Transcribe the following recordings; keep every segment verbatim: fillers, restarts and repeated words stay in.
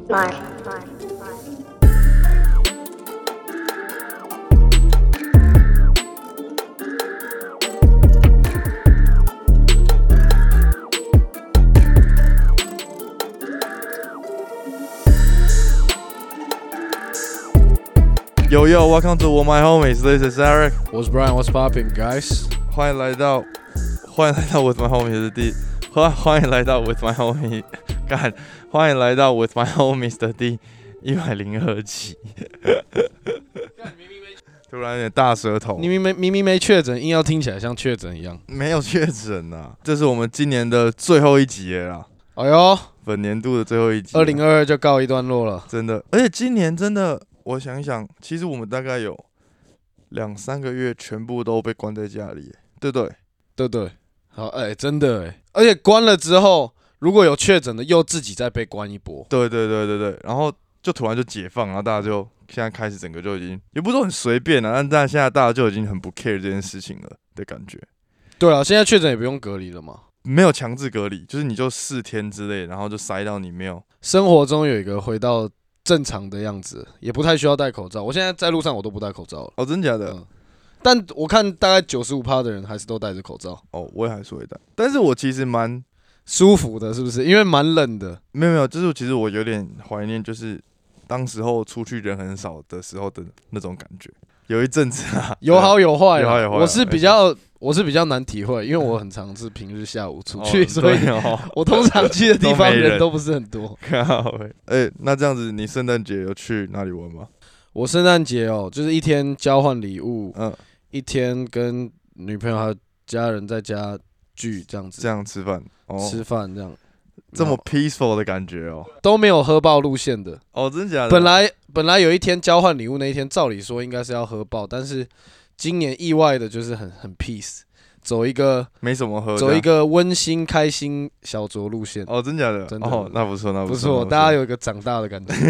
Mark. Yo yo, welcome to All My Homies. This is Eric. 我是 Brian. What's popping, guys? 欢迎来到，欢迎来到 With My Homies 的第，欢欢迎来到 With My Homies， 干，欢迎来到 With My Homies 的第一百零二集。突然有点大舌头。 你明明明明没确诊，硬要听起来像确诊一样。 没有确诊啊，这是我们今年的最后一集了啦。 哎呦， 本年度的最后一集。 二零二二就告一段落了。 真的，而且今年真的。我想一想，其实我们大概有两三个月全部都被关在家里，对不对？ 对对，好，哎、欸，真的哎，而且关了之后，如果有确诊的，又自己再被关一波。 对对对对对，然后就突然就解放，然后大家就现在开始整个就已经，也不是说很随便啊，但但现在大家就已经很不 care 这件事情了的感觉。 对啊，现在确诊也不用隔离了嘛， 没有强制隔离，就是你就四天之类，然后就塞到你没有。 生活中有一个回到正常的样子，也不太需要戴口罩。我现在在路上我都不戴口罩了。 哦，真假的？嗯、 但我看大概 百分之九十五 的人还是都戴着口罩。 哦，我也还是会戴，但是我其实蛮舒服的，是不是？因为蛮冷的。 没有没有，就是其实我有点怀念，就是当时候出去人很少的时候的那种感觉。有一阵子啊， 有好有坏， 有好有坏。 我是比较，我是比较难体会，因为我很常是平日下午出去，哦、所以我通常去的地方人都不是很多。 哎、欸，那这样子，你圣诞节有去哪里玩吗？ 我圣诞节哦，就是一天交换礼物， 嗯， 一天跟女朋友还有家人在家聚这样子， 这样吃饭，哦、 吃饭这样。 这么 peaceful 的感觉哦， 都没有喝爆路线的哦，真假的？ 本来本来有一天交换礼物那一天，照理说应该是要喝爆，但是今年意外的就是很很 peace， 走一个没什么喝， 走一个温馨开心小酌路线。 哦，真假的？ 真的哦，那不错，那不错， 大家有一个长大的感觉。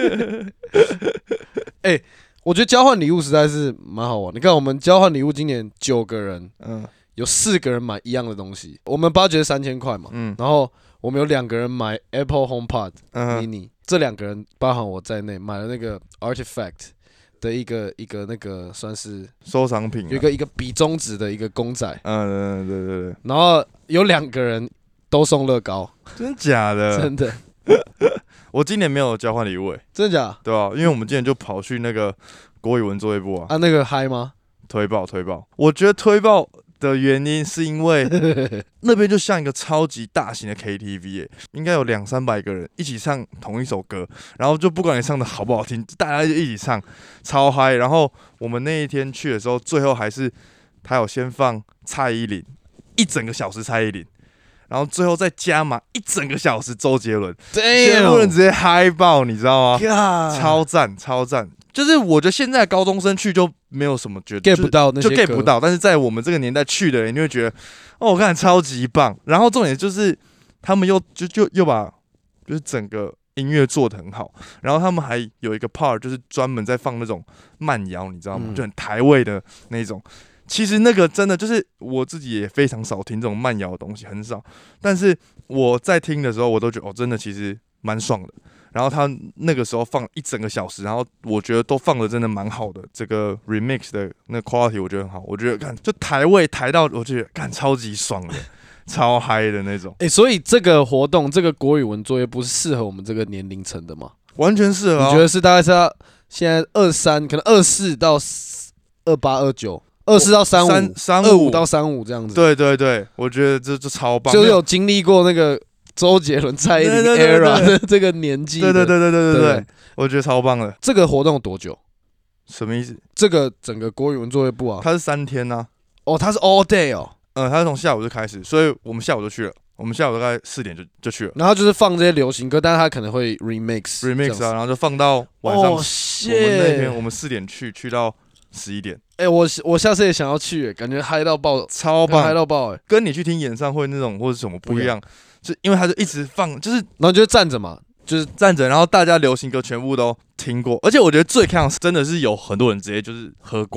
哎、欸，我觉得交换礼物实在是蛮好玩。你看，我们交换礼物今年九个人，嗯，有四个人买一样的东西，我们 budget 三千块嘛，嗯，然后。我们有两个人买 Apple HomePod Mini，、嗯、这两个人包含我在内，买了那个 Artifact 的一个一个那个算是收藏品、啊， 有一个一个比中指的一个公仔， 嗯，对对对。 然后有两个人都送乐高， 真假的？ 真的。 我今年没有交换礼物、欸， 真的假？ 对啊，因为我们今年就跑去那个国语文作业部啊。 啊，那个嗨吗？ 推爆推爆，我觉得推爆。的原因是因为那边就像一个超级大型的 K T V， 欸、应该有两三百个人一起唱同一首歌，然后就不管你唱的好不好听，大家就一起唱，超嗨。然后我们那一天去的时候，最后还是他有先放蔡依林一整个小时，蔡依林，然后最后再加码一整个小时周杰伦，全部人直接嗨爆，你知道吗？ God. 超赞超赞。就是我觉得现在高中生去就没有什么觉得 get 不到那些歌， 就 get 不到，但是在我们这个年代去的人，你会觉得哦，我看超级棒。然后重点就是他们又就就又把就是整个音乐做得很好，然后他们还有一个 part 就是专门在放那种慢摇，你知道吗？嗯、就很台味的那种。其实那个真的就是我自己也非常少听这种慢摇的东西，很少。但是我在听的时候，我都觉得哦，真的其实蛮爽的。然后他那个时候放一整个小时，然后我觉得都放的真的蛮好的，这个 remix 的那个 quality 我觉得很好，我觉得看就台味台到，我觉得看超级爽的，超嗨的那种。 哎、欸，所以这个活动，这个国语文作业不是适合我们这个年龄层的吗？ 完全适合、啊。 你觉得是大概是要现在二三，可能二四到二八二九，二四到三五，三二五到三五这样子。 对对对，我觉得这这超棒， 就是有经历过那个。周杰伦、蔡依林 era 的这个年纪， 对对对对对对对，我觉得超棒的。 这个活动多久？ 什么意思？ 这个整个国语文作业部啊， 它是三天呐、啊。 哦，它是 all day 哦。 嗯，它是从下午就开始，所以我们下午就去了。我们下午大概四点就就去了。 然后就是放这些流行歌，但是它可能会 remix remix 啊，然后就放到晚上。 哦， 我们那天我们四点去，去到十一点。 哎、欸，我我下次也想要去，感觉嗨到爆， 超棒， 嗨到爆！哎， 跟你去听演唱会那种或者什么不一样。就因为他就一直放，就是然后就站着嘛， 就是站着，然后大家流行歌全部都听过，而且我觉得最看真的是有很多人直接就是喝挂，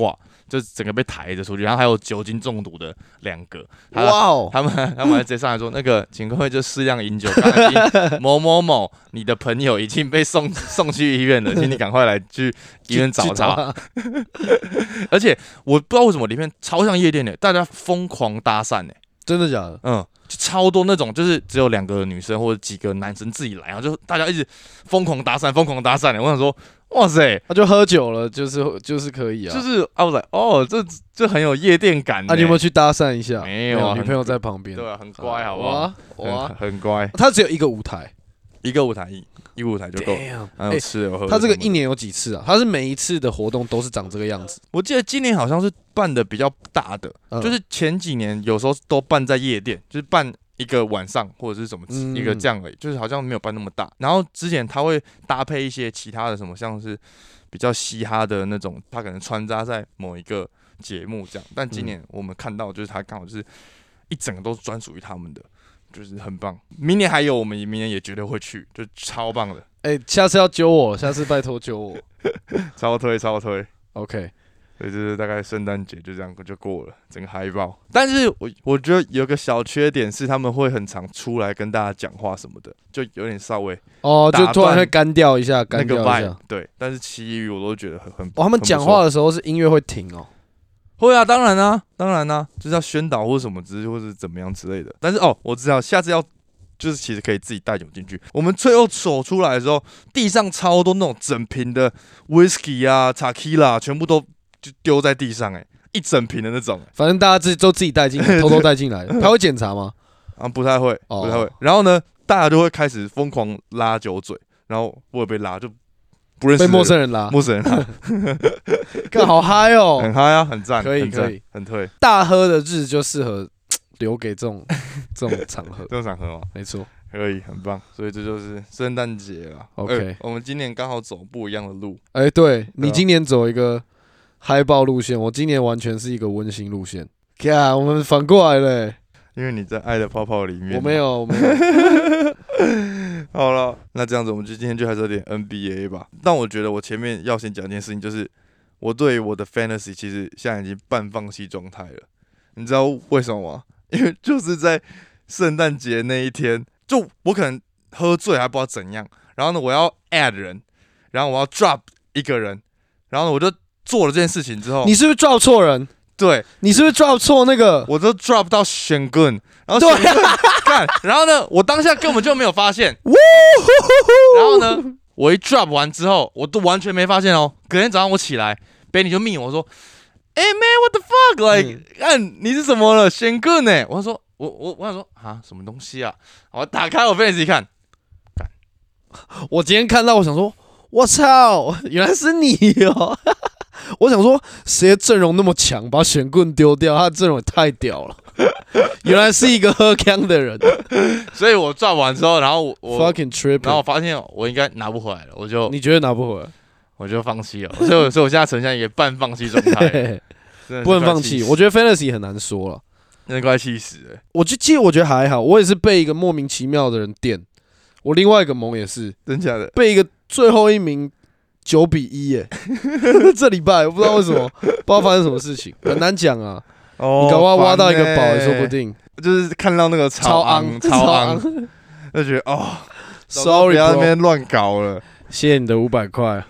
就整个被抬着出去，然后还有酒精中毒的两个， 哇哦， 他们他们还直接上来说，那个请各位就适量饮酒，刚才某某某你的朋友已经被送送去医院了，请你赶快来去医院找他。而且我不知道为什么里面超像夜店的，大家疯狂搭讪哎， 真的假的？ 嗯。就超多那种，就是只有两个女生或者几个男生自己来，然后就大家一直疯狂搭讪，疯狂搭讪。我想说，哇塞， 他、啊、就喝酒了，就是就是可以啊， 就是啊，我 like, 哦，这这很有夜店感。 啊，你有没有去搭讪一下？ 没有、啊， 女朋友在旁边， 对啊，很乖，好不好？ 哇， 很, 很乖。 他只有一个舞台， 一个舞台一。一个舞台就够了，还有吃的喝的。 他这个一年有几次啊？他是每一次的活动都是长这个样子。 我记得今年好像是办的比较大的，嗯、就是前几年有时候都办在夜店，就是办一个晚上或者是什么一个这样而已，就是好像没有办那么大。然后之前他会搭配一些其他的什么，像是比较嘻哈的那种，他可能穿插在某一个节目这样。但今年我们看到就是他刚好就是一整个都是专属于他们的。就是很棒，明年还有，我们明年也绝对会去，就超棒的。 哎、欸，下次要揪我，下次拜托揪我， 超推超推 ，OK。 所以就是大概圣诞节就这样就过了，整个嗨爆。但是我我觉得有个小缺点是，他们会很常出来跟大家讲话什么的，就有点稍微哦，就突然会干掉一下，干掉一下。 那个 vibe, 对，但是其余我都觉得很很。 哦，他们讲话的时候是音乐会停哦。 会啊，当然啊，当然啊，就是要宣导或什么之，或是怎么样之类的。但是哦，我知道下次要，就是其实可以自己带酒进去。我们最后走出来的时候，地上超多那种整瓶的 whisky 啊、tequila 全部都就丢在地上、欸，哎，一整瓶的那种、欸。 反正大家自己都自己带进，偷偷带进来。他会检查吗？ 啊，不太会，不太会。然后呢，大家就会开始疯狂拉酒嘴，然后我也被拉就。不认识被陌生人拉， 陌生人拉， 看好嗨哦， 很嗨啊，很赞， 可以可以， 很推。 大喝的日就适合留给这种这种场合， 这种场合吗？ 没错， 可以，很棒。所以这就是圣诞节了。 OK，、欸、 我们今年刚好走不一样的路。 哎、欸，对你今年走一个嗨爆路线，我今年完全是一个温馨路线。看，我们反过来了、欸。 因为你在爱的泡泡里面， 我没有，我没有。 好了，那这样子，我们就今天就还是有点 N B A 吧。但我觉得我前面要先讲一件事情，就是我对我的 fantasy 其实现在已经半放弃状态了。你知道为什么吗？因为就是在圣诞节那一天，就我可能喝醉还不知道怎样，然后呢，我要 add 人，然后我要 drop 一个人，然后呢，我就做了这件事情之后， 你是不是 drop 错人？ 对， 你是不是 drop 错那个？ 我都 drop 到选棍，然后选棍干，然后呢，我当下根本就没有发现。然后呢，我一 drop 完之后，我都完全没发现哦。隔天早上我起来 ，Benny 就密我说：“哎、欸、，man，what the fuck？like， 看、嗯、你是怎么了？选棍呢？”我说：“我我我想说啊，什么东西啊？”我打开我 Fantasy 一看，干， 我今天看到，我想说，我操，原来是你哦。我想说，谁的阵容那么强，把选棍丢掉？他的阵容也太屌了，原来是一个喝康的人。 所以我赚完之后，然后我 fucking tripping， 然后我发现我应该拿不回来了，我就你觉得拿不回来， 我就放弃了。所以我，所以我现在呈现一个半放弃状态， 不能放弃。我觉得 fantasy 很难说了， 真的快气死了。 我就其实我觉得还好，我也是被一个莫名其妙的人电。我另外一个盟也是， 真假的， 被一个最后一名。九比一耶！这礼拜我不知道为什么，不知道发生什么事情，很难讲啊。哦，你搞不好挖到一个宝也说不定。 就是看到那个超昂超昂，就觉得哦 ，sorry， 不要在那边乱搞了。 谢谢你的五百块。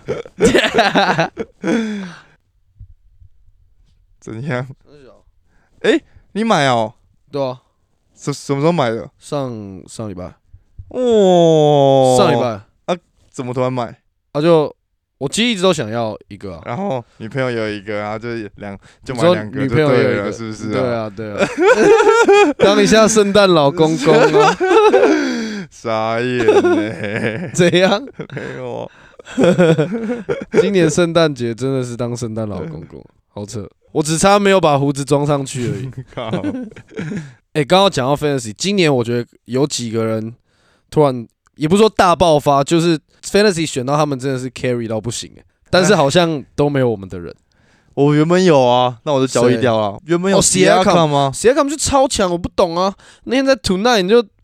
怎样？哎、欸，你买哦？ 对啊。 什什么时候买的？ 上上礼拜。 哦。 上礼拜啊？怎么突然买？ 啊就。我其实一直都想要一个、啊， 然后女朋友有一个，然后就两就买两个， 女朋友有一个， 是不是、啊？ 对啊，对啊。当一下圣诞老公公啊！ 傻眼呢？ 怎样？ 没有。 今年圣诞节真的是当圣诞老公公，好扯！我只差没有把胡子装上去而已。靠！哎，刚刚讲到 fantasy， 今年我觉得有几个人突然。也不是说大爆发，就是 fantasy 选到他们真的是 carry 到不行哎，但是好像都没有我们的人。 我原本有啊，那我就交易掉了。原本有 Siakam 吗 ？Siakam 就超强，我不懂啊。那天在 Tonight 你就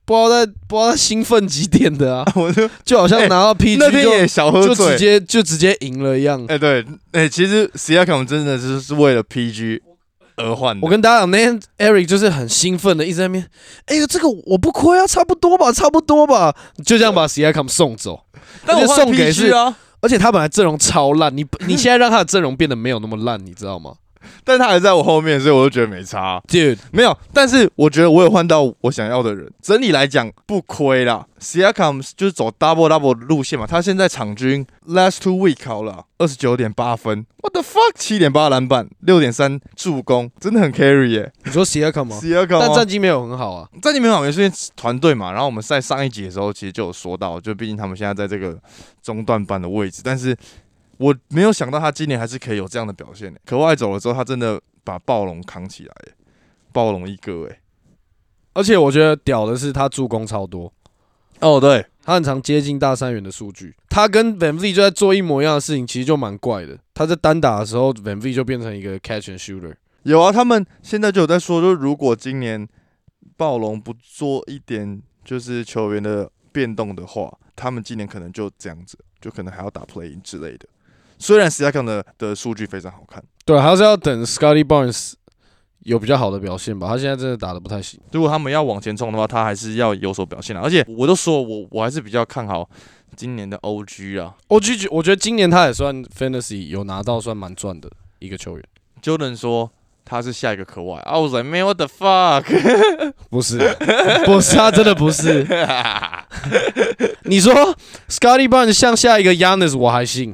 不知道在不知道在兴奋几点的啊， 我就就好像拿到 P G 那天也小喝醉， 就直接就直接赢了一样。 哎、欸，对，哎、欸，其实 Siakam 真的是是为了 P G 而换的。 我跟大家讲，那天 Eric 就是很兴奋的一直在那边，哎、欸，这个我不亏啊，差不多吧，差不多吧，就这样把 Siakam 送走。 但我送给是啊， 而且他本来阵容超烂，你你现在让他的阵容变得没有那么烂，你知道吗？ 但他还在我后面，所以我就觉得没差。 Dude， 没有，但是我觉得我有换到我想要的人，整体来讲不亏啦。Siakam 就是走 double double 路线嘛，他现在场均 last two week 好了二十九点八分 ，what the fuck， 七点八篮板，六点三助攻，真的很 carry 耶、欸。 你说 Siakam 吗 ？Siakam， 但战绩没有很好啊， 战绩没有很好，因为团队嘛。然后我们在上一集的时候其实就有说到，就毕竟他们现在在这个中段班的位置，但是我没有想到他今年还是可以有这样的表现、欸。可外走了之后，他真的把暴龙扛起来、欸，暴龙一哥哎、欸。 而且我觉得屌的是他助攻超多。 哦，对， 他很常接近大三元的数据。他跟 VanVleet 就在做一模一样的事情，其实就蛮怪的。他在单打的时候 ，VanVleet 就变成一个 catch and shooter。 有啊，他们现在就有在说，就是如果今年暴龙不做一点就是球员的变动的话，他们今年可能就这样子，就可能还要打 play-in 之类的。虽然 Siakam 的的数据非常好看， 对，还是要等 Scottie Barnes 有比较好的表现吧。他现在真的打得不太行。 如果他们要往前冲的话，他还是要有所表现的。而且我都说我我还是比较看好今年的 O G 啊。 O G 我觉得今年他也算 Fantasy 有拿到算蛮赚的一个球员。 Jordan 说他是下一个可外 ，I was like man what the fuck， 不是，不是，他真的不是。你说 Scottie Barnes 像下一个 Giannis 我还信。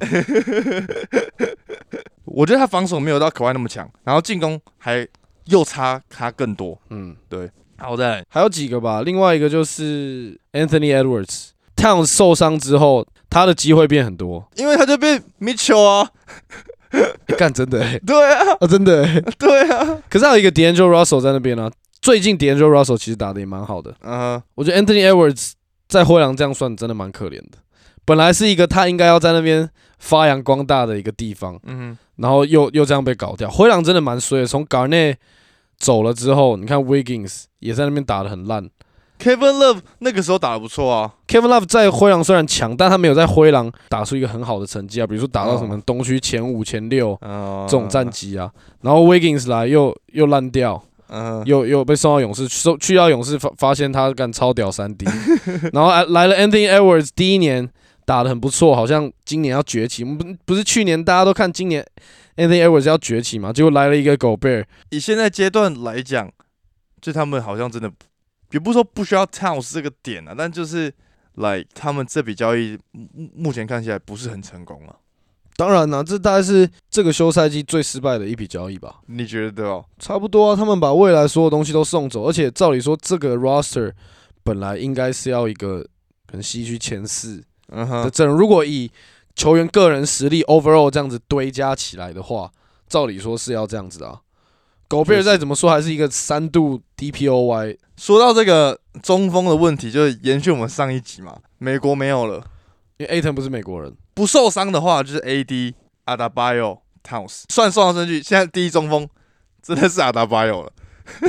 我觉得他防守没有到可外那么强，然后进攻还又差他更多。嗯，对。好的， 还有几个吧。另外一个就是 Anthony Edwards，Towns 受伤之后，他的机会变很多， 因为他就变 Mitchell 啊。 干、欸、真的哎、欸， 对啊， 啊真的哎、欸， 对啊。 可是还有一个 D'Angelo Russell 在那边啊。最近 D'Angelo Russell 其实打得也蛮好的。嗯、uh ， huh. 我觉得 Anthony Edwards 在灰狼这样算真的蛮可怜的。本来是一个他应该要在那边发扬光大的一个地方，嗯哼，然后又又这样被搞掉。灰狼真的蛮衰的，从 Garnett 走了之后，你看 Wiggins 也在那边打得很烂。 Kevin Love 那个时候打得不错啊。 Kevin Love 在灰狼虽然强，但他没有在灰狼打出一个很好的成绩啊，比如说打到什么东区前五、前六这种战绩啊。然后 Wiggins 来又又烂掉，嗯，又又被送到勇士，去到勇士发发现他干超屌三 D， 然后来了 Anthony Edwards 第一年打得很不错，好像今年要崛起。不不是去年大家都看今年 Anthony Edwards 要崛起嘛，结果来了一个 Gobert。 以现在阶段来讲，就他们好像真的。也不是说不需要 Towns 这个点啊，但就是来他们这笔交易目前看起来不是很成功啊。 当然啦、啊，这大概是这个休赛季最失败的一笔交易吧？ 你觉得对哦？ 差不多啊，他们把未来所有东西都送走，而且照理说这个 roster 本来应该是要一个可能西区前四的阵容，如果以球员个人实力 overall 这样子堆加起来的话，照理说是要这样子啊。狗贝尔再怎么说还是一个三度 D P O Y。 说到这个中锋的问题，就是延续我们上一集嘛，美国没有了， 因为 Ayton 不是美国人， 不受伤的话就是 A D、Adebayo、Towns， 算送上去，现在第一中锋真的是 Adebayo 了。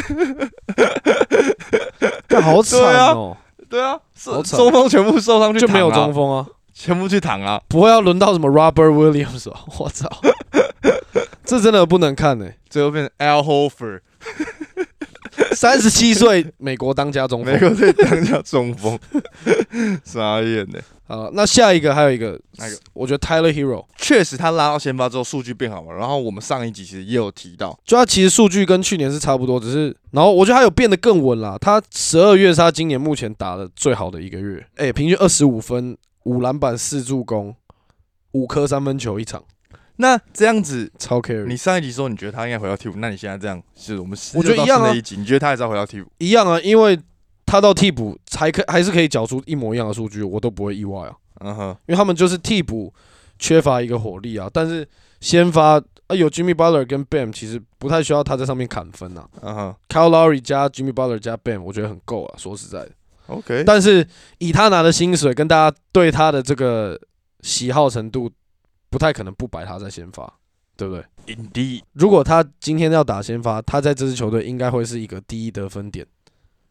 干好惨哦！ 对啊，对啊，中锋全部受伤去躺、啊， 就没有中锋啊， 全部去躺啊， 不会要轮到什么 Robert Williams 哦，我操！这真的不能看哎、欸， 最后变成 Al Horford， 三十七岁，美国当家中锋， 美国队当家中锋，傻眼呢。 好，那下一个还有一个，那个我觉得 Tyler Hero 确实他拉到先发之后数据变好嘛，然后我们上一集其实也有提到， 就他其实数据跟去年是差不多，只是然后我觉得他有变得更稳啦。他十二月是他今年目前打的最好的一个月，哎、欸，平均二十五分、五篮板、四助攻、五颗三分球一场。 那这样子超 carry。 你上一集说你觉得他应该回到替补，那你现在这样，是我们我觉得一样啊。 一集你觉得他还是要回到替补？ 一样啊，因为他到替补还可还是可以缴出一模一样的数据，我都不会意外啊。嗯哼，因为他们就是替补缺乏一个火力啊，但是先发啊有 Jimmy Butler 跟 Bam， 其实不太需要他在上面砍分啊。嗯哼 ，Kyle Lowry 加 Jimmy Butler 加 Bam， 我觉得很够啊。说实在的 ，OK。 但是以他拿的薪水跟大家对他的这个喜好程度，不太可能不摆他在先发，对不对 ？Indeed， 如果他今天要打先发，他在这支球队应该会是一个第一得分点。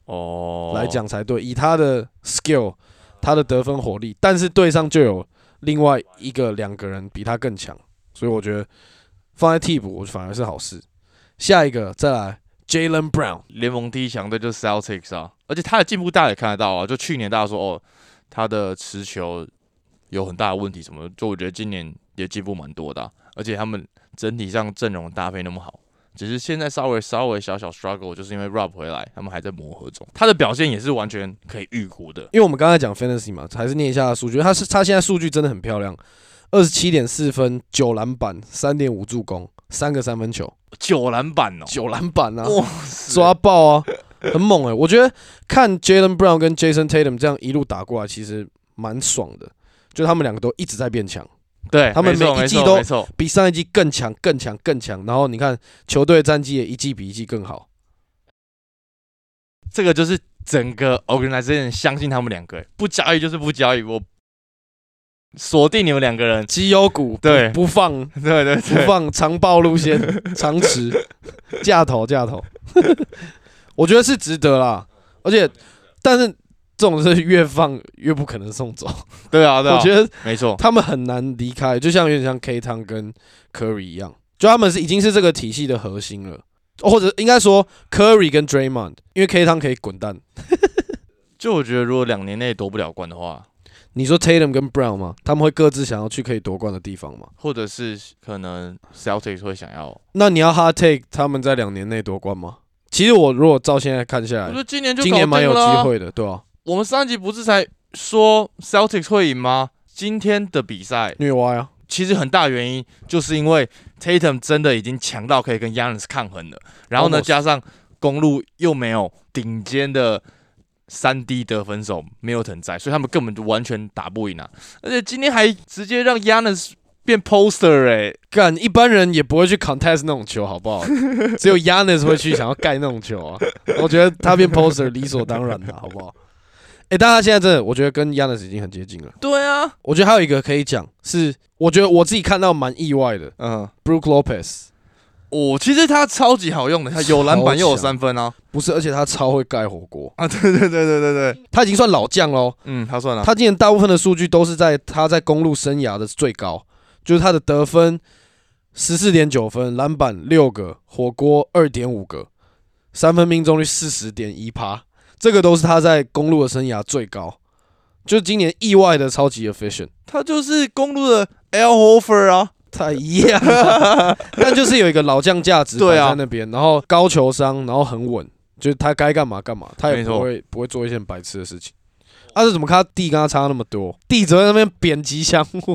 哦来讲才对，以他的 skill， 他的得分火力，但是队上就有另外一个两个人比他更强，所以我觉得放在替补我反而是好事。下一个再来 Jaylen Brown， 联盟第一强队就是 Celtics 啊，而且他的进步大家也看得到啊，就去年大家说哦他的持球有很大的问题什么的，就我觉得今年也进步蛮多的、啊，而且他们整体上阵容搭配那么好。只是现在稍微稍微小小 struggle， 就是因为 Rob 回来，他们还在磨合中。他的表现也是完全可以预估的， 因为我们刚才讲 fantasy 嘛，还是念一下数据。他是他现在数据真的很漂亮，二十七点四分，九篮板，三点五助攻，三个三分球， 九篮板哦， 九篮板啊，抓爆啊，很猛哎、欸！我觉得看 Jaylen Brown 跟 Jason Tatum 这样一路打过来，其实蛮爽的，就他们两个都一直在变强。 对， 他们每一季都比上一季更强、更强、更强。然后你看球队战绩也一季比一季更好。 这个就是整个 organization 相信他们两个，不交易就是不交易，我锁定你们两个人， 绩优股对不放， 对对对， 不放长暴路线，长持架头架头，我觉得是值得啦。而且，但是。这种是越放越不可能送走， 对啊，对啊， 我觉得没错， 他们很难离开，就像有点像 K 汤跟 Curry 一样，就他们是已经是这个体系的核心了，或者应该说 Curry 跟 Draymond， 因为 K 汤可以滚蛋。 就我觉得如果两年内夺不了冠的话， 你说 Tatum 跟 Brown 吗？他们会各自想要去可以夺冠的地方吗？ 或者是可能 Celtics 会想要？ 那你要 hard take 他们在两年内夺冠吗？其实我如果照现在看下来， 我觉得今年就今年蛮有机会的，对吧、啊？ 我们上一集不是才说 Celtics 会赢吗？今天的比赛虐歪啊！ 其實很大原因就是因為 Tatum 真的已經強到可以跟 Giannis 抗衡了，然後呢，加上公路又沒有頂尖的三 D 得分手 Middleton 在，所以他們根本就完全打不贏啊！而且今天還直接讓 Giannis 變 poster 哎、欸， 幹一般人也不會去 contest 那種球，好不好？只有 Giannis 會去想要蓋那種球啊！我覺得他變 poster 理所當然的，好不好？哎、欸，但他現在真的，我覺得跟 Giannis 已經很接近了。 對啊， 我覺得還有一個可以講，是我覺得我自己看到蠻意外的。嗯 ，Brook Lopez， 哦，其實他超級好用的，他有籃板又有三分啊。 不是，而且他超會蓋火鍋啊！對對對對對對， 他已經算老將咯。 嗯，他算了。 他今年大部分的數據都是在他在公路生涯的最高，就是他的得分十四點九分，籃板六個，火鍋二點五個，三分命中率四十點一趴。这个都是他在公路的生涯最高，就今年意外的超级 efficient， 他就是公路的 Al Horford 啊， 太一样了，但就是有一个老将价值摆在那边，然后高球商，然后很稳，就是他该干嘛干嘛，他也不会不会做一些很白痴的事情。啊，是怎么看他弟跟他差那么多？弟只在那边贬吉祥物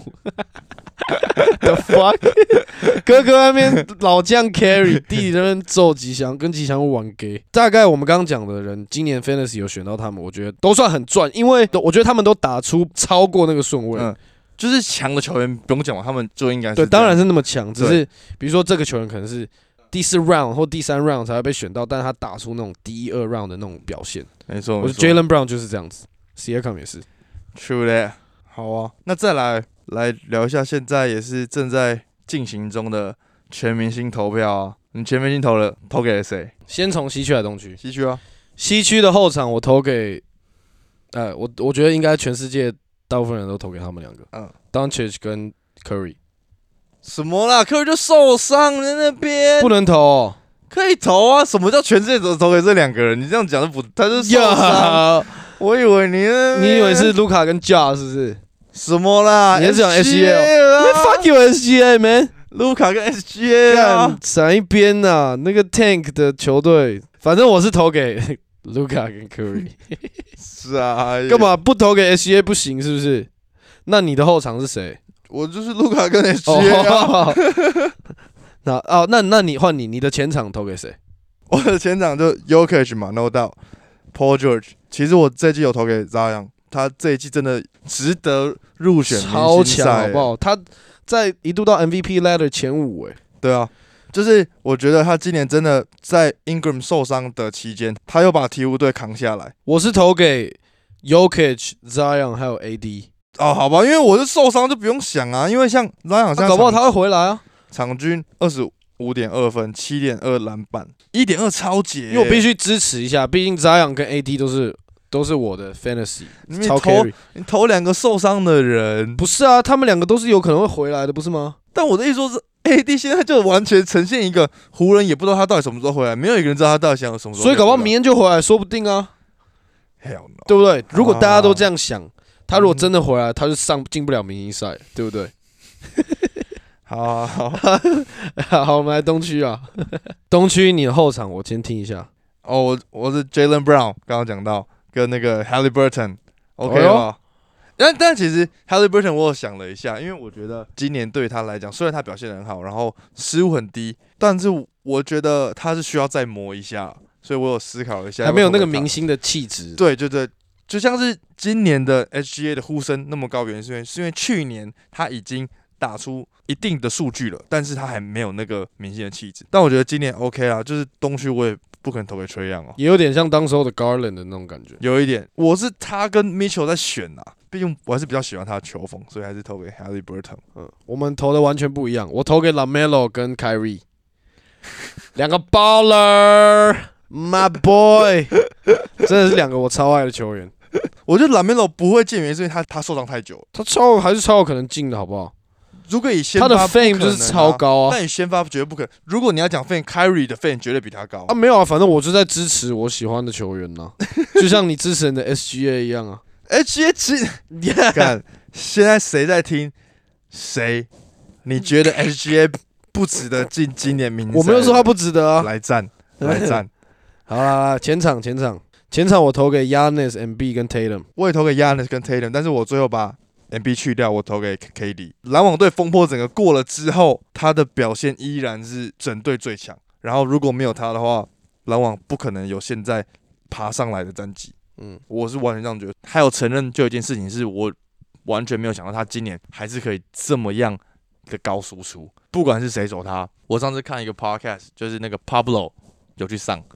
，the fuck， 哥哥那边老将 carry， 弟弟那边揍吉祥，跟吉祥物玩 gay。大概我们刚刚讲的人，今年 fantasy 有选到他们，我觉得都算很赚，因为我觉得他们都打出超过那个顺位。嗯， 就是强的球员不用讲嘛，他们就应该是对，当然是那么强，只是比如说这个球员可能是第四 round 或第三 round 才会被选到，但是他打出那种第一二 round 的那种表现。 没错， 我觉得 Jaylen Brown 就是这样子。Siakam 也是 ，True that。好啊，那再来来聊一下现在也是正在进行中的全明星投票啊。你全明星投了，投给了谁？ 先从西区还是东区？ 西区啊。 西区的后场我投给，呃，我我觉得应该全世界大部分人都投给他们两个。嗯 ，Doncic 跟 Curry。 什么啦 ？Curry 就受伤在那边， 不能投、哦。 可以投啊！什么叫全世界都投给这两个人？你这样讲就不，他是受伤。我以为你， 你以为是卢卡跟 Ja 是不是？ 什么啦？ 你是讲 S G A？Man fuck you S G A man！ 卢卡跟 S G A 啊， 闪一边呐！那个 Tank 的球队，反正我是投给卢卡跟 Curry。 是啊， 干嘛不投给 S G A 不行？是不是？那你的后场是谁？ 我就是卢卡跟 S G A 啊。 那哦，那那你换你，你的前场投给谁？ 我的前场就 Jokic 嘛 ，No doubt。Paul George， 其实我这一季有投给 Zion， 他这一季真的值得入选明星赛， 超强好不好？他在一度到 M V P ladder 前五哎。 对啊，就是我觉得他今年真的在 Ingram 受伤的期间，他又把鹈鹕队扛下来。 我是投给 Jokic、Zion 还有 A D。 哦，好吧，因为我是受伤就不用想啊，因为像 Zion 现在、啊、 搞不好他会回来啊。 场均二十五点二分，七点二篮板，一点二超节、欸。 因为我必须支持一下，毕竟 Zion 跟 A D 都是都是我的 fantasy 你超 carry。你投两个受伤的人， 不是啊？他们两个都是有可能会回来的，不是吗？ 但我的意思说是 A D 现在就完全呈现一个湖人也不知道他到底什么时候回来，没有一个人知道他到底想什么时候。 所以搞不好明天就回来，说不定啊。 Hell no. 对不对？如果大家都这样想，他如果真的回来，他就上进不了明星赛，对不对？ 好好好，好，我们来东区啊。东区你的后场我先听一下。 哦，我我是 Jaylen Brown， 刚刚讲到跟那个 Haliburton，OK 吧？哦但但其实 Haliburton 我有想了一下，因为我觉得今年对于他来讲，虽然他表现得很好，然后失误很低，但是我觉得他是需要再磨一下，所以我有思考一下， 还没有那个明星的气质。 对对对，就像是今年的 H G A 的呼声那么高，原因是因为是因为去年他已经打出一定的数据了，但是他还没有那个明星的气质。但我觉得今年 OK 啦，就是东区我也不可能投给Trae Young哦， 也有点像当时候的 Garland 的那种感觉， 有一点。我是他跟 Mitchell 在选啊，毕竟我还是比较喜欢他的球风，所以还是投给 Haliburton。 嗯，我们投的完全不一样，我投给 LaMelo 跟 Kyrie， 两个 baller，my boy， 真的是两个我超爱的球员。 我觉得 LaMelo 不会进，原因是因为他他受伤太久了， 他超还是超有可能进的，好不好？ 如果以先发、 啊，他的 fame 就是超高啊， 但你先发绝对不可能。如果你要讲 fame，Kyrie 的 fame 绝对比他高啊。没有啊，反正我就在支持我喜欢的球员呐、啊，就像你支持你的 S G A 一样啊。 S G A 其实，干，现在谁在听？谁？你觉得 S G A 不值得进今年明星赛？ 我没有说他不值得啊。 来战，来战。 好啦，前场前场前场我投给 Giannis、M B 跟 Tatum， 我也投给 Giannis 跟 Tatum， 但是我最后把M B 去掉，我投给 K D。篮网队风波整个过了之后，他的表现依然是整队最强。然后如果没有他的话，篮网不可能有现在爬上来的战绩。嗯，我是完全这样觉得。还有承认，就有一件事情是我完全没有想到，他今年还是可以这么样的高输出，不管是谁走他。我上次看一个 podcast， 就是那个 Pablo 有去上。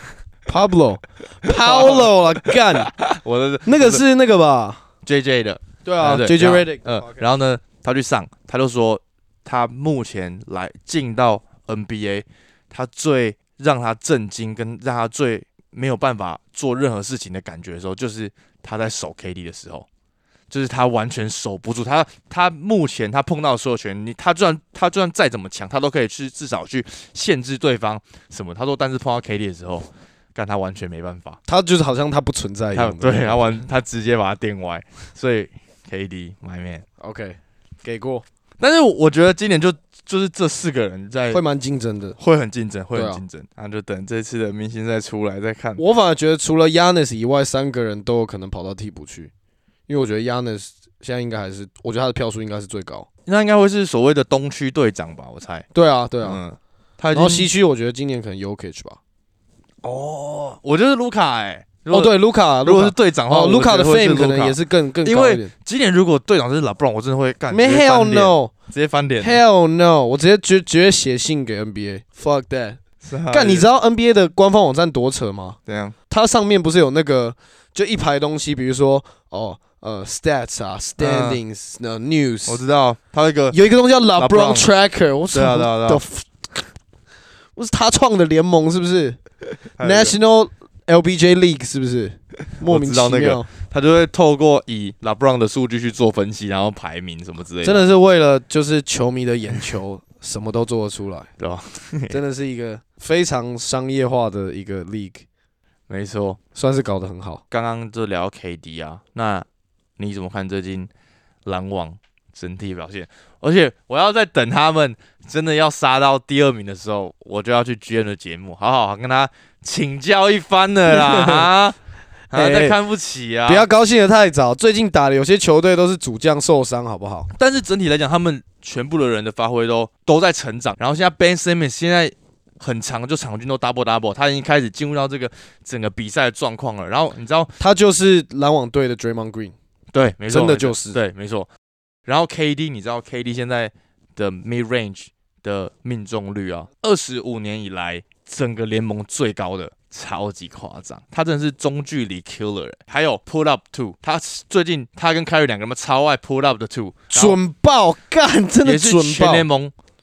Pablo，Pablo 啊，干！我的那个是那个吧 ，J J 的。 对啊 ，J J Redick。 嗯，然后呢，他去上，他就说他目前来进到 N B A， 他最让他震惊跟让他最没有办法做任何事情的感觉的时候，就是他在守 K D 的时候，就是他完全守不住他。他目前他碰到的所有球员，你他就算他就算再怎么强，他都可以去至少去限制对方什么。他说，但是碰到 K D 的时候，干他完全没办法， 他就是好像他不存在一样。 对，他完他直接把他电歪，所以 K D my man，OK， 给过。 但是我觉得今年就就是这四个人在会蛮竞争的， 会很竞争，会很竞争。那、啊、就等这次的明星赛出来再看。 我反而觉得除了 Giannis 以外，三个人都有可能跑到替补去，因为我觉得 Giannis 现在应该还是，我觉得他的票数应该是最高。 那应该会是所谓的东区队长吧，我猜。 对啊，对啊。 嗯，他然后西区我觉得今年可能 Jokic 吧。 哦，我觉得卢卡哎。 哦，对，卢卡， 如果是队长的话， 卢卡的 fame 可能也是更更高一点。 因为今年如果队长是 LeBron， 我真的会干。 没 hell no， 直接翻脸。 Hell no， 我直接直直接写信给 N B A，fuck that。干，你知道 N B A 的官方网站多扯吗？ 怎样？ 它上面不是有那个就一排东西，比如说哦呃 stats 啊 standings 呃 news， 我知道，它那个有一个东西叫 LeBron Tracker， 我操，对啊对啊， 我是他创的联盟是不是 ？National L B J League 是不是？莫名其妙， 我知道那个，他就会透过以 LeBron 的数据去做分析，然后排名什么之类的。 真的是为了就是球迷的眼球，什么都做得出来， 对吧？ 真的是一个非常商业化的一个 league， 没错， 算是搞得很好。 刚刚就聊 K D 啊，那你怎么看最近篮网整体表现？而且我要在等他们真的要杀到第二名的时候，我就要去 G M 的节目，好好跟他请教一番了啦！啊，啊再看不起啊！ 不要高兴得太早，最近打的有些球队都是主将受伤，好不好？ 但是整体来讲，他们全部的人的发挥都都在成长。然后现在 Ben Simmons 现在很长，就场均都 double double， 他已经开始进入到这个整个比赛的状况了。然后你知道， 他就是篮网队的 Draymond Green， 对，没错， 真的就是对，没错。然后 K D， 你知道 K D 现在的 mid range 的命中率啊，二十五年以来整个联盟最高的，超级夸张。他真的是中距离 killer， 还有 pull up two， 他最近他跟凯瑞两个人超爱 pull up 的 two， 准爆干，真的准爆， 也是全联盟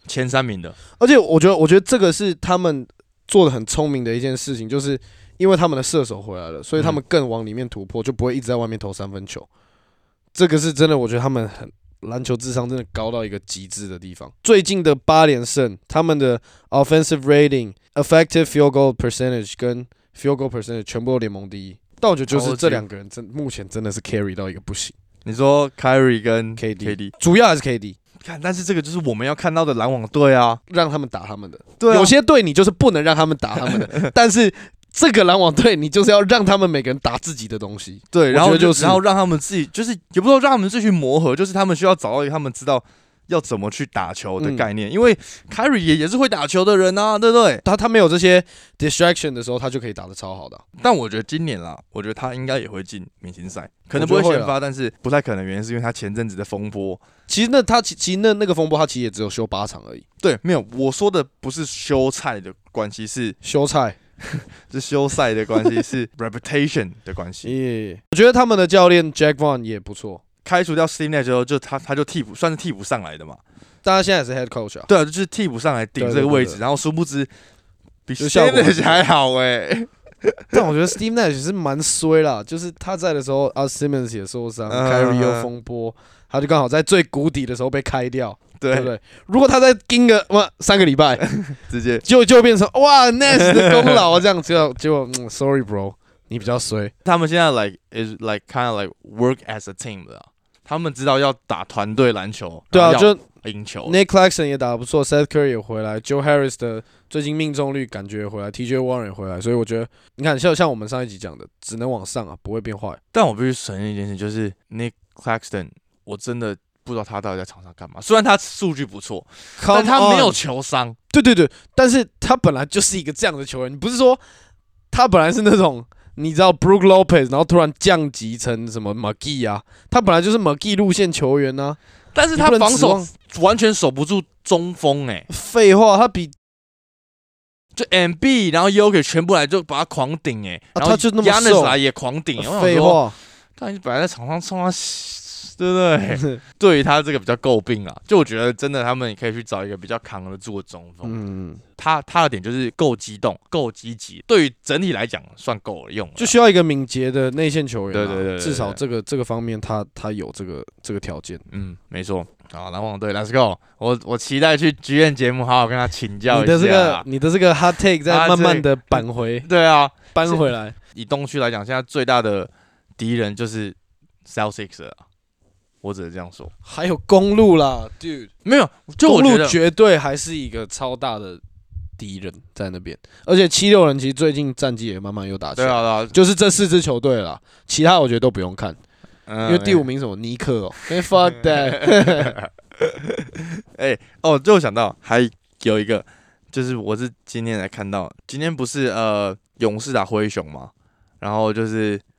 前三名的。 而且我觉得，我觉得这个是他们做的很聪明的一件事情，就是因为他们的射手回来了，所以他们更往里面突破，就不会一直在外面投三分球。这个是真的，我觉得他们很篮球智商真的高到一个极致的地方。最近的八连胜，他们的 offensive rating、effective field goal percentage 跟 field goal percentage 全部都联盟第一。但我觉得就是这两个人真目前真的是 carry 到一个不行。 你说 Kyrie 跟 K D，, K D 主要还是 K D。 看，但是这个就是我们要看到的篮网队啊， 让他们打他们的。 对、啊， 有些队你就是不能让他们打他们的，但是这个篮网队你就是要让他们每个人打自己的东西。 对，然后就是， 然后让他们自己，就是也不说让他们自己去磨合，就是他们需要找到一个他们知道要怎么去打球的概念。嗯、因为 Kyrie 也也是会打球的人啊，对不对？ 他他没有这些 distraction 的时候，他就可以打得超好的、啊。 但我觉得今年啦，我觉得他应该也会进明星赛，可能不会先发，但是不太可能，原因是因为他前阵子的风波。 其实那他其实那那个风波，他其实也只有休八场而已。 对，没有，我说的不是休赛的关系，是休赛， 是休赛的关系，是 reputation 的关系。 yeah, 我觉得他们的教练 Jack Vaughn 也不错。 开除掉 Steve Nash 之后，就他他就替补，算是替补上来的嘛。 但他现在也是 head coach 啊。 对啊，就是替补上来顶这个位置，对对对对，然后殊不知比 Steve Nash 还好哎、欸。 但我觉得 Steve Nash 是蛮衰啦，就是他在的时候 ，Al Simmons 也受伤 ，Kyrie 又风波，他就刚好在最谷底的时候被开掉，对, 对不对？如果他再盯个哇三个礼拜， 直接就就变成哇 Nash 的功劳啊，这样就就嗯 ，sorry bro， 你比较衰。 他们现在 like is like kind of like work as a team 的、啊，他们知道要打团队篮球， 对啊，就赢球。 Nick Claxton 也打得不错 ，Seth Curry 也回来 ，Joe Harris 的最近命中率感觉也回来 ，T J Warren 也回来，所以我觉得你看像像我们上一集讲的，只能往上啊，不会变坏。 但我必须承认一件事，就是 Nick Claxton， 我真的不知道他到底在场上干嘛。虽然他数据不错，但他没有球商。 对对对，但是他本来就是一个这样的球员，你不是说他本来是那种。你知道 Brook Lopez， 然后突然降级成什么 McGee 啊？他本来就是 McGee 路线球员啊， 但是他防守完全守不住中锋哎、欸。 废话，他比就 M B， 然后 Jokic 全部来就把他狂顶哎、欸， 啊、 然后他就那么瘦 Giannis 来也狂顶、欸。 废话， 他本来在场上冲他，对不对？对于他这个比较诟病啊，就我觉得真的他们也可以去找一个比较扛得住的中锋。嗯。他他的点就是够激动，够积极，对于整体来讲算够了用了， 就需要一个敏捷的内线球员、啊。 对对 对, 對, 對, 對， 至少这个这个方面他他有这个这个条件。 嗯，没错。好，篮网队 ，Let's go！ 我我期待去剧院节目，好好跟他请教一下。 你的这个你的这个 hot take 再慢慢的扳回。 对啊， 扳回来。 以东区来讲，现在最大的敌人就是 Celtics 了。我只能这样说。 还有公路啦 ，Dude， 没有，就我公路绝对还是一个超大的敌人在那边，而且七六人其实最近战绩也慢慢又打起来， 对啊，对啊， 就是这四支球队啦，其他我觉得都不用看， 嗯、 因为第五名什么尼克哦、喔，哎 fuck that， 哎哦，就想到还有一个，就是我是今天才看到，今天不是呃勇士打灰熊嘛，然后就是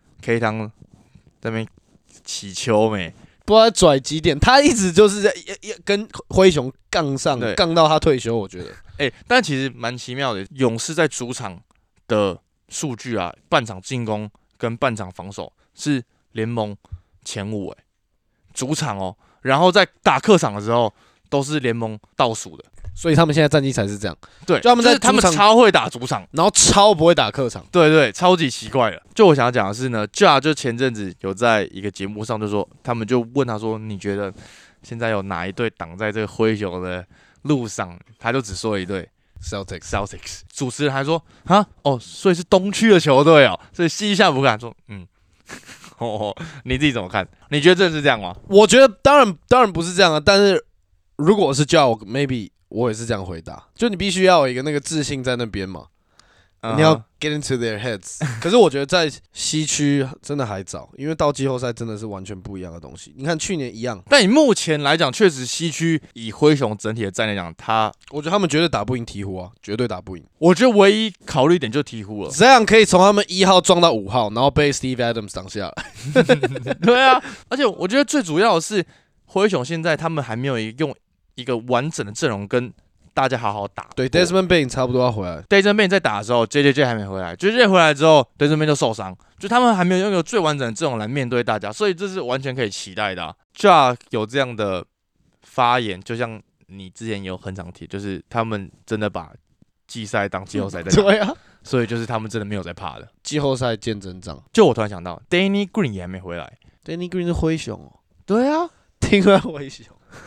K 汤在那边起球没。 不知道拽几点，他一直就是在跟灰熊杠上，杠到他退休。我觉得， 哎、欸，但其实蛮奇妙的。勇士在主场的数据啊，半场进攻跟半场防守是联盟前五，哎，主场哦。然后在打客场的时候，都是联盟倒数的。 所以他们现在战绩才是这样。 对， 就他们在他们超会打主场， 然后超不会打客场。 对对，超级奇怪的。就我想要讲的是呢 ，Ja 就前阵子有在一个节目上就说，他们就问他说，你觉得现在有哪一队挡在这个灰熊的路上？他就只说了一队 Celtics Celtics。主持人还说啊，哦，所以是东区的球队哦，所以西夏不敢说，嗯。哦，你自己怎么看？你觉得真的是这样吗？ 我觉得当然当然不是这样啊，但是如果我是 Ja， 我 maybe 我也是这样回答，就你必须要有一个那个自信在那边嘛， uh-huh. 你要 get into their heads。可是我觉得在西区真的还早，因为到季后赛真的是完全不一样的东西。你看去年一样， 但以目前来讲，确实西区以灰熊整体的战来讲，他我觉得他们绝对打不赢鹈鹕啊，绝对打不赢。 我觉得唯一考虑点就鹈鹕了， 这样可以从他们一号撞到五号，然后被 Steve Adams 挡下来。 对啊，而且我觉得最主要的是灰熊现在他们还没有用一个完整的阵容跟大家好好打。 对 ，Desmond Bane 差不多要回来。 Desmond Bane 在打的时候 ，J J J 还没回来 ，J J J 回来之后 ，Desmond Bane 就受伤，就他们还没有拥有最完整的阵容来面对大家，所以这是完全可以期待的、啊。Ja 有这样的发言，就像你之前有很常提，就是他们真的把季赛当季后赛在打， 对啊， 所以就是他们真的没有在怕的。 季后赛见真章。 就我突然想到 ，Danny Green 也还没回来。 Danny Green 是灰熊哦。 对啊， 听说灰熊。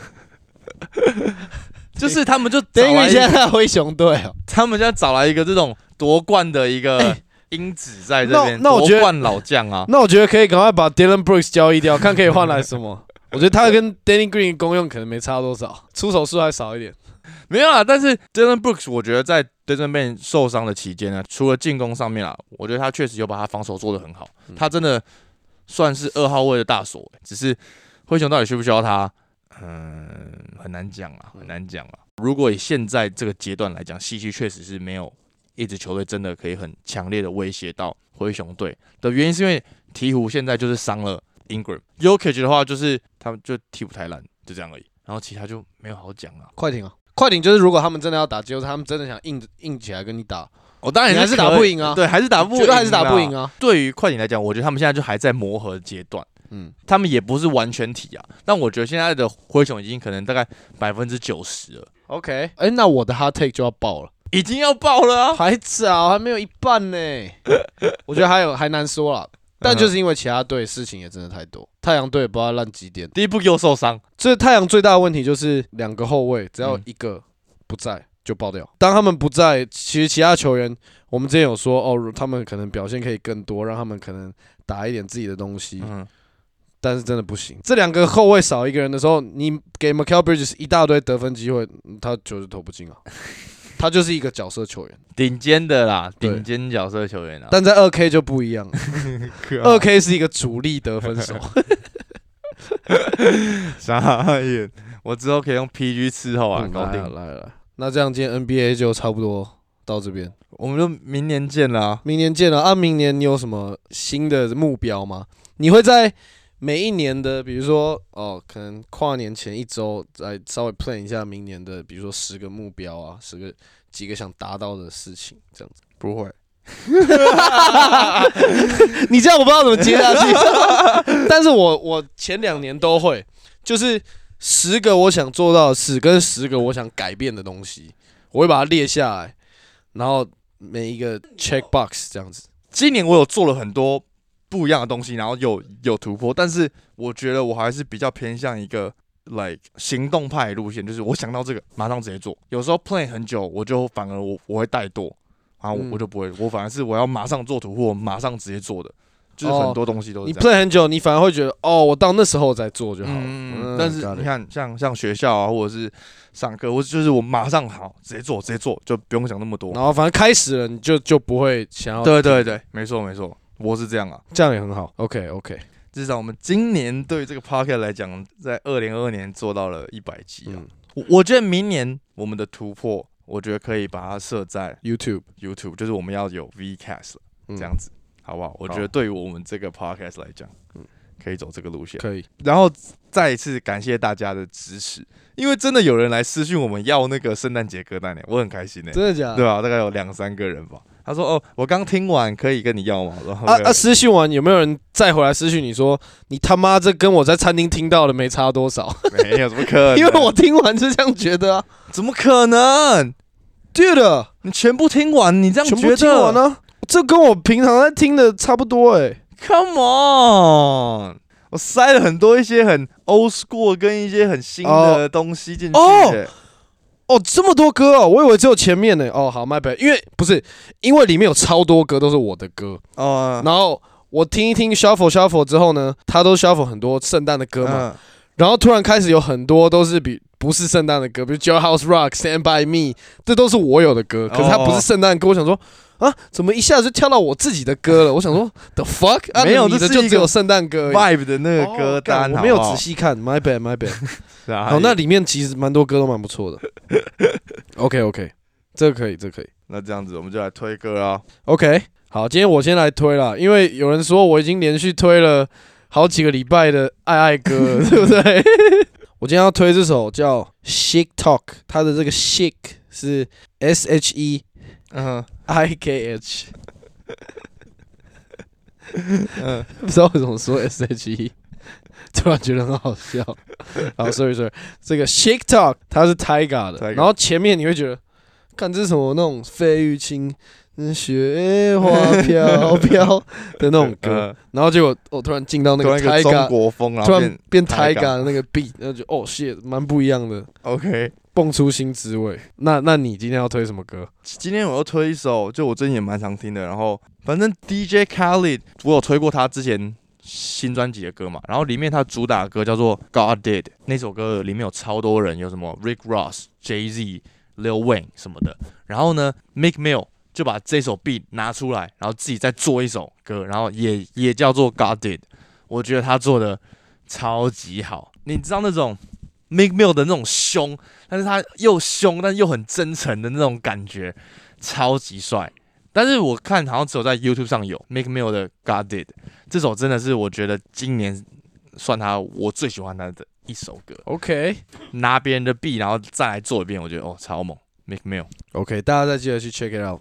就是他们就等于现在在灰熊队哦， 他们现在找来一个这种夺冠的一个因子在这边，夺冠老将啊。 那我觉得可以赶快把 Dylan Brooks 交易掉，看可以换来什么。我觉得他跟 Danny Green 的功用可能没差多少，出手数还少一点。 没有啦，但是 Dylan Brooks 我觉得在 Desmond Bane 受伤的期间呢，除了进攻上面啦，我觉得他确实有把他防守做得很好，嗯、他真的算是二号位的大锁、欸，只是灰熊到底需不需要他？嗯，很难讲啊，很难讲啊。如果以现在这个阶段来讲，西区确实是没有一支球队真的可以很强烈的威胁到灰熊队的原因，是因为鹈鹕现在就是伤了 Ingram，Jokic 的话就是他们就替补太烂，就这样而已。然后其他就没有好讲啊。 快艇啊，快艇就是如果他们真的要打季后赛，他们真的想硬硬起来跟你打， 我、哦、当然你还是打不赢啊， 对，还是打不赢， 绝对还是打不赢啊。 对于快艇来讲，我觉得他们现在就还在磨合阶段。嗯，他们也不是完全体啊，但我觉得现在的灰熊已经可能大概百分之九十了。 OK， 哎、欸，那我的 hot take 就要爆了， 已经要爆了啊， 还早，还没有一半呢。我觉得还有还难说啦，但就是因为其他队事情也真的太多，太阳队不知道烂几点， 第一步又受伤， 所以太阳最大的问题就是两个后卫，只要一个不在就爆掉。当他们不在，其实其他球员，我们之前有说哦，他们可能表现可以更多，让他们可能打一点自己的东西。嗯，但是真的不行，这两个后卫少一个人的时候，你给 Mikal Bridges 一大堆得分机会，他球就投不进啊。他就是一个角色球员， 顶尖的啦，顶尖角色球员啊。 但在 二 K 就不一样了，二 K 是一个主力得分手。 傻眼，我之后可以用 P G 伺候啊， 嗯、 搞定。 来了来了，那这样今天 N B A 就差不多到这边， 我们就明年见啦、啊。 明年见了啊！明年你有什么新的目标吗？你会在每一年的，比如说哦，可能跨年前一周，来稍微 plan 一下明年的，比如说十个目标啊，十个几个想达到的事情，这样子。 不会， 你这样我不知道怎么接下去。但是我我前两年都会，就是十个我想做到的事，跟十个我想改变的东西，我会把它列下来，然后每一个 check box 这样子。 今年我有做了很多不一样的东西，然后有有突破，但是我觉得我还是比较偏向一个 like 行动派的路线，就是我想到这个马上直接做。有时候 plan 很久，我就反而我我会怠惰，然后我我就不会，我反而是我要马上做突破，马上直接做的，就是很多东西都是这样。 你 plan 很久，你反而会觉得哦，我到那时候再做就好了。 嗯嗯、但是你看，像像学校啊，或者是上课，或者就是我马上好直接做，直接做，就不用想那么多。 然后反正开始了，你就就不会想要。 对对对，没错没错。我是这样啊， 这样也很好。OK OK， 至少我们今年对这个 podcast 来讲，在二零二二年做到了一百集啊。嗯、我, 我觉得明年我们的突破，我觉得可以把它设在 YouTube YouTube， 就是我们要有 Vcast 了、嗯、这样子，好不好？我觉得对于我们这个 podcast 来讲，嗯，可以走这个路线。 可以。 然后再一次感谢大家的支持，因为真的有人来私讯我们要那个圣诞节歌单呢，我很开心呢。 真的假的？ 对吧？大概有两三个人吧。他说：“哦，我刚听完，可以跟你要吗？” 啊啊！私讯完有没有人再回来私讯你说你他妈这跟我在餐厅听到的没差多少？ 没有，怎么可能？ 因为我听完是这样觉得啊， 怎么可能？ 对的， 你全部听完，你这样觉得？ 全部听完呢、啊？这跟我平常在听的差不多哎、欸。 Come on， 我塞了很多一些很 old school 跟一些很新的东西进去、欸。 哦哦，这么多歌哦，我以为只有前面呢。哦，好 ，my bad， 因为不是，因为里面有超多歌都是我的歌哦。然后我听一听 shuffle shuffle 之后呢，他都 shuffle 很多圣诞的歌嘛。嗯、然后突然开始有很多都是比不是圣诞的歌，比如 Jailhouse Rock、Stand by Me， 这都是我有的歌，可是它不是圣诞歌。我想说啊，怎么一下子就跳到我自己的歌了？我想说 the fuck， 啊、 没有， 你的就只有圣诞歌 vibe 的那个歌单、 哦，我没有仔细看 ，my bad，my bad。好，那里面其实蛮多歌都蛮不错的。OK OK， 这个可以，这个可以。 那这样子我们就来推歌啊。 OK， 好，今天我先来推啦，因为有人说我已经连续推了好几个礼拜的爱爱歌了，对不对？我今天要推这首叫《Chic Talk》，它的这个 Chic 是 S H E I K H。嗯，不知道为什么说 S H E。 突然觉得很好笑。好 ，sorry sorry， 这个 Shake Talk 它是 Tyga 的， Tyga 然后前面你会觉得，看这是什么那种费玉清。雪花飘飘的那种歌，然后结果我突然进到那个 Tyga 中国风， 突然变 Tyga 的那个 beat， 然后就哦 shit， 蛮不一样的。 OK， 蹦出新滋味。那那你今天要推什么歌？ 今天我要推一首，就我最近也蛮常听的。然后反正 D J Khaled， 我有推过他之前新专辑的歌嘛，然后里面他主打的歌叫做 God Did， 那首歌里面有超多人，有什么 Rick Ross、Jay-Z、Lil Wayne 什么的。然后呢 ，Meek Mill 就把这首 beat 拿出来，然后自己再做一首歌，然后也也叫做 God Did。我觉得他做的超级好。你知道那种 Meek Mill 的那种凶，但是他又凶，但又很真诚的那种感觉，超级帅。但是我看好像只有在 YouTube 上有 Meek Mill 的 God Did 这首，真的是我觉得今年算他我最喜欢他的一首歌。 OK， 拿别人的 beat 然后再来做一遍，我觉得哦超猛。Meek Mill，OK， 大家再记得去 check it out。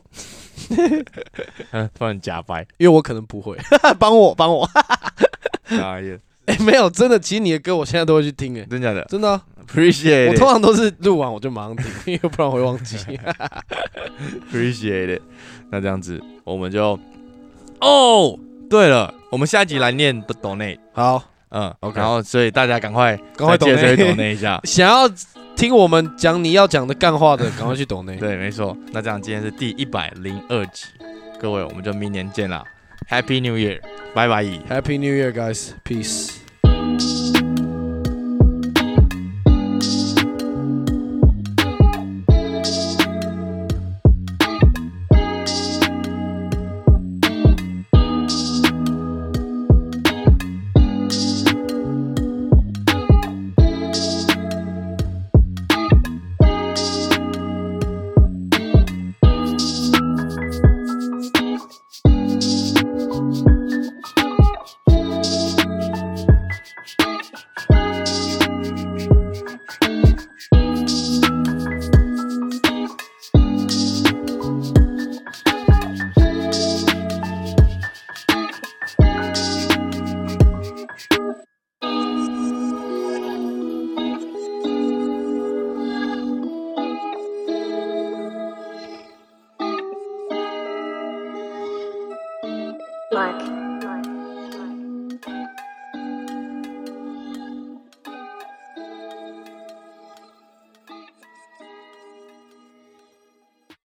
突然假掰， 因为我可能不会，帮我帮我。 哎呀， 哎，没有，真的，其实你的歌我现在都会去听，哎， 真假的， 真的、啊、 ，Appreciate it。 我通常都是录完我就马上听，因为不然会忘记。 Appreciate it。那这样子，我们就哦，对了，我们下一集来念的 donate。 好， 嗯 ，OK， 然后所以大家赶快赶快 donate 一下， 想要听我们讲你要讲的干话的，赶快去 donate。 对，没错。那这样今天是第一百零二集，各位，我们就明年见啦 ，Happy New Year， 拜拜 ，Happy New Year guys， peace。 Mark.